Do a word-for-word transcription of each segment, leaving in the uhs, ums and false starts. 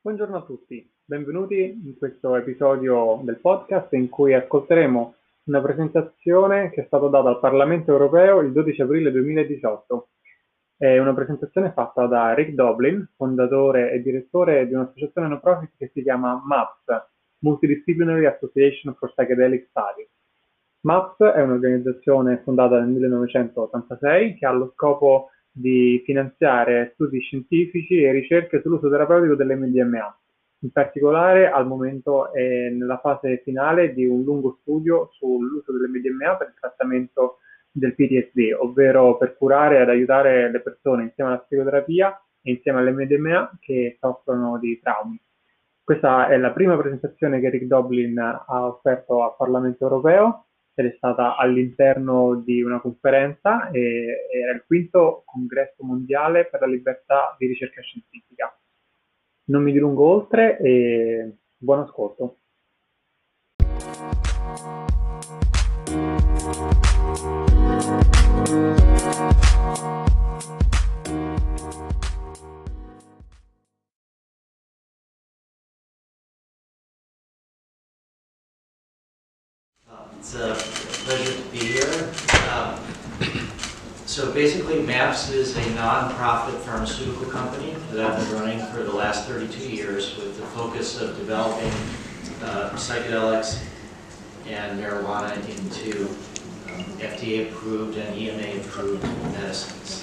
Buongiorno a tutti, benvenuti in questo episodio del podcast in cui ascolteremo una presentazione che è stata data al Parlamento Europeo il dodici aprile duemiladiciotto. È una presentazione fatta da Rick Doblin, fondatore e direttore di un'associazione no profit che si chiama MAPS, Multidisciplinary Association for Psychedelic Studies. MAPS è un'organizzazione fondata nel millenovecentottantasei che ha lo scopo di finanziare studi scientifici e ricerche sull'uso terapeutico dell'emme di emme a. In particolare al momento è nella fase finale di un lungo studio sull'uso dell'emme di emme a per il trattamento del P T S D, ovvero per curare ed aiutare le persone insieme alla psicoterapia e insieme all'emme di emme a che soffrono di traumi. Questa è la prima presentazione che Rick Doblin ha offerto al Parlamento Europeo ed è stata all'interno di una conferenza e era il quinto congresso mondiale per la libertà di ricerca scientifica. Non mi dilungo oltre e buon ascolto. It's a pleasure to be here. Um, so basically, MAPS is a non-profit pharmaceutical company that I've been running for the last thirty-two years with the focus of developing uh, psychedelics and marijuana into um, F D A-approved and E M A-approved medicines.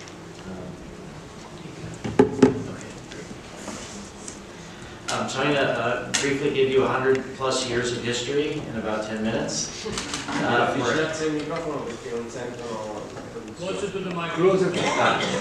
Um, so I'm going to uh, briefly give you one hundred plus years of history in about ten minutes. Uh, Avvicinarsi il microfono perché non sentono. Closer to the mic. Closer to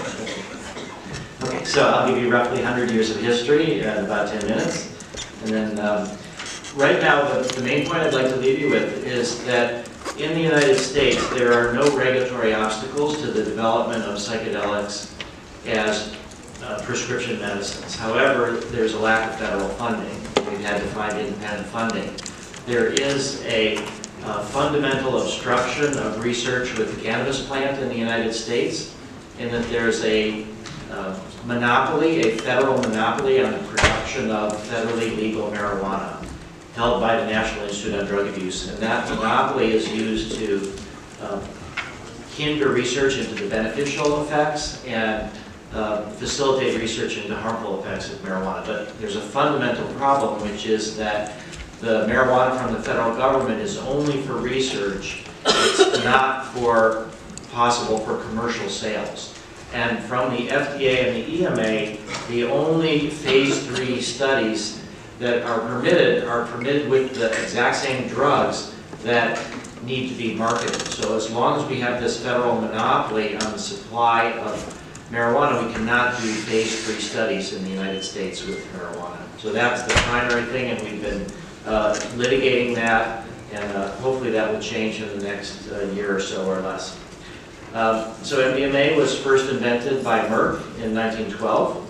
Okay, so I'll give you roughly one hundred years of history in about ten minutes. And then um, right now, the, the main point I'd like to leave you with is that in the United States, there are no regulatory obstacles to the development of psychedelics as Uh, prescription medicines. However, there's a lack of federal funding. We've had to find independent funding. There is a uh, fundamental obstruction of research with the cannabis plant in the United States, in that there's a uh, monopoly, a federal monopoly on the production of federally legal marijuana held by the National Institute on Drug Abuse. And that monopoly is used to uh, hinder research into the beneficial effects and Uh, facilitate research into harmful effects of marijuana. But there's a fundamental problem, which is that the marijuana from the federal government is only for research. It's not for possible for commercial sales. And from the F D A and the E M A, the only phase three studies that are permitted are permitted with the exact same drugs that need to be marketed. So as long as we have this federal monopoly on the supply of marijuana, we cannot do phase three studies in the United States with marijuana. So that's the primary thing, and we've been uh, litigating that, and uh, hopefully that will change in the next uh, year or so or less. Um, so M D M A was first invented by Merck in nineteen twelve.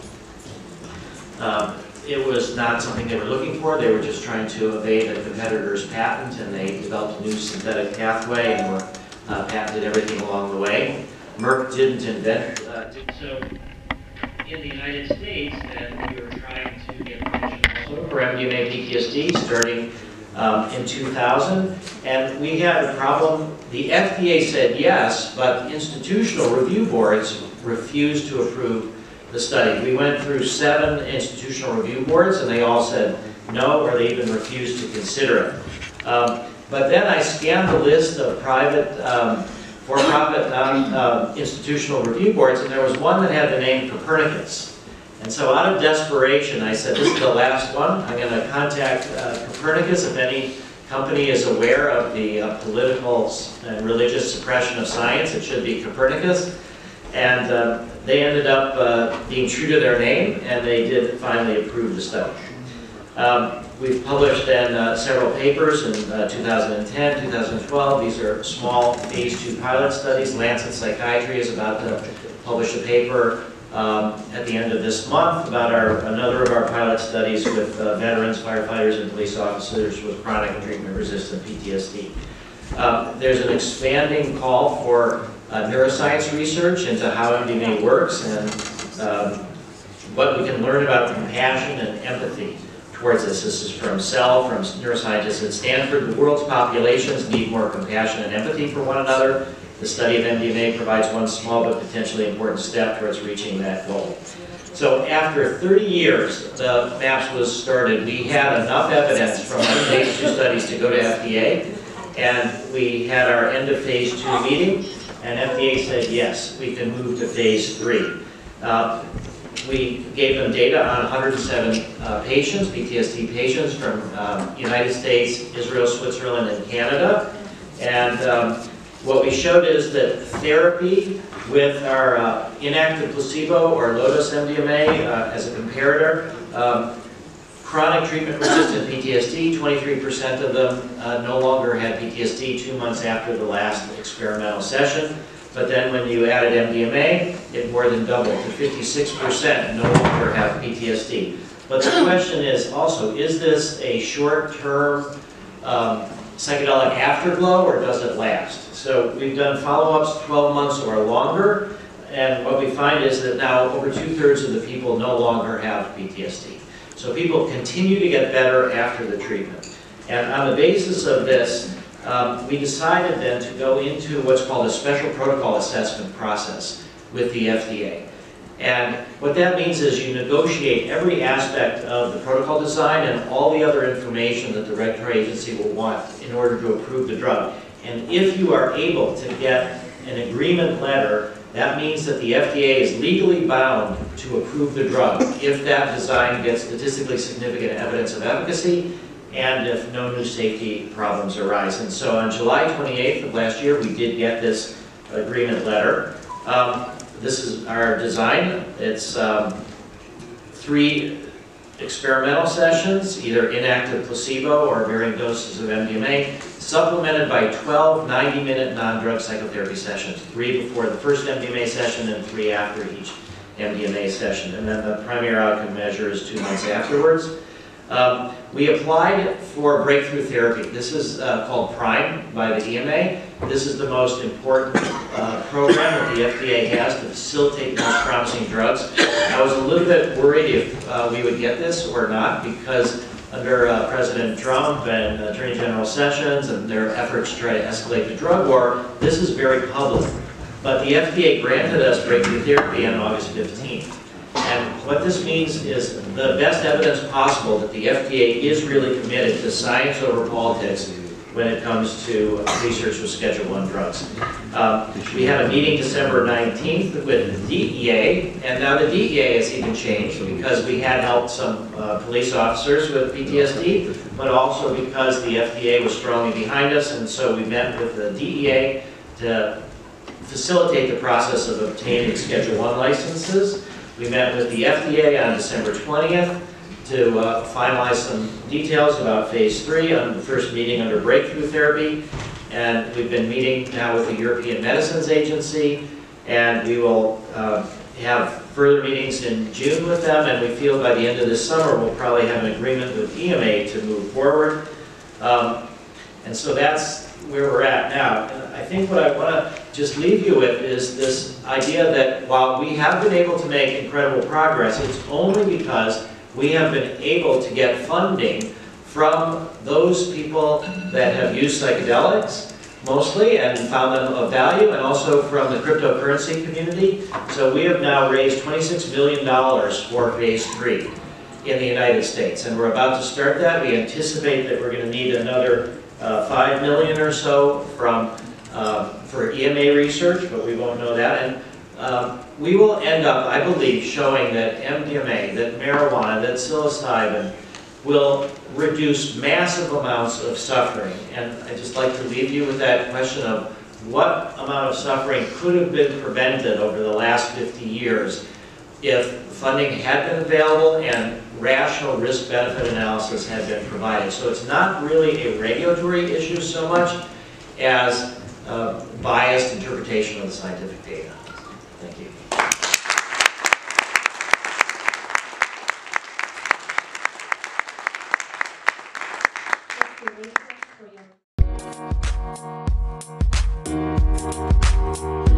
Um, it was not something they were looking for. They were just trying to evade a competitor's patent, and they developed a new synthetic pathway and were uh, patented everything along the way. Merck didn't invent, uh, did so in the United States, and we were trying to get permission also for M D M A P T S D starting um, in two thousand, and we had a problem. The F D A said yes, but institutional review boards refused to approve the study. We went through seven institutional review boards, and they all said no, or they even refused to consider it. Um, but then I scanned the list of private um, for-profit non-institutional uh, review boards, and there was one that had the name Copernicus. And so out of desperation, I said, this is the last one. I'm going to contact uh, Copernicus if any company is aware of the uh, political and religious suppression of science. It should be Copernicus. And uh, they ended up uh, being true to their name, and they did finally approve the study. Um, We've published in uh, several papers in uh, two thousand ten, two thousand twelve. These are small phase two pilot studies. Lancet Psychiatry is about to publish a paper um, at the end of this month about our, another of our pilot studies with uh, veterans, firefighters, and police officers with chronic and treatment-resistant P T S D. Um, there's an expanding call for uh, neuroscience research into how M D M A works, and um, what we can learn about compassion and empathy towards this. This is from Cell, from neuroscientists at Stanford. The world's populations need more compassion and empathy for one another. The study of M D M A provides one small but potentially important step towards reaching that goal. So after thirty years, the MAPS was started. We had enough evidence from our phase two studies to go to F D A, and we had our end of phase two meeting, and F D A said, yes, we can move to phase three. Uh, we gave them data on one hundred seven uh, patients, P T S D patients from um, United States, Israel, Switzerland, and Canada. And um, what we showed is that therapy with our uh, inactive placebo or low-dose M D M A uh, as a comparator, um, chronic treatment-resistant P T S D, twenty-three percent of them uh, no longer had P T S D two months after the last experimental session. But then when you added M D M A, it more than doubled to fifty-six percent no longer have P T S D. But the question is also, is this a short-term um, psychedelic afterglow, or does it last? So we've done follow-ups twelve months or longer, and what we find is that now over two-thirds of the people no longer have P T S D. So people continue to get better after the treatment. And on the basis of this, um, we decided then to go into what's called a special protocol assessment process with the F D A. And what that means is you negotiate every aspect of the protocol design and all the other information that the regulatory agency will want in order to approve the drug. And if you are able to get an agreement letter, that means that the F D A is legally bound to approve the drug if that design gets statistically significant evidence of efficacy and if no new safety problems arise. And so on July twenty-eighth of last year, we did get this agreement letter. Um, this is our design. It's um, three experimental sessions, either inactive placebo or varying doses of M D M A, supplemented by twelve ninety-minute non-drug psychotherapy sessions, three before the first M D M A session and three after each M D M A session. And then the primary outcome measure is two months afterwards. Um, we applied for breakthrough therapy. This is uh, called PRIME by the E M A. This is the most important uh, program that the F D A has to facilitate the most promising drugs. I was a little bit worried if uh, we would get this or not, because under uh, President Trump and Attorney General Sessions and their efforts to try to escalate the drug war, this is very public. But the F D A granted us breakthrough therapy on August fifteenth. And what this means is the best evidence possible that the F D A is really committed to science over politics when it comes to research with Schedule one drugs. Um, we had a meeting December nineteenth with the D E A, and now the D E A has even changed because we had helped some uh, police officers with P T S D, but also because the F D A was strongly behind us, and so we met with the D E A to facilitate the process of obtaining Schedule one licenses. We met with the F D A on December twentieth to uh, finalize some details about phase three on the first meeting under breakthrough therapy. And we've been meeting now with the European Medicines Agency, and we will uh, have further meetings in June with them, and we feel by the end of this summer we'll probably have an agreement with E M A to move forward. Um, and so that's where we're at now. And I think what I want to just leave you with is this idea that while we have been able to make incredible progress, it's only because we have been able to get funding from those people that have used psychedelics mostly and found them of value, and also from the cryptocurrency community. So we have now raised twenty-six million dollars for phase three in the United States, and we're about to start that. We anticipate that we're going to need another uh, five million dollars or so from uh, for E M A research, but we won't know that. And um, we will end up, I believe, showing that M D M A, that marijuana, that psilocybin will reduce massive amounts of suffering. And I'd just like to leave you with that question of what amount of suffering could have been prevented over the last fifty years if funding had been available and rational risk-benefit analysis had been provided. So it's not really a regulatory issue so much as uh, biased interpretation of the scientific data. Thank you. Thank you.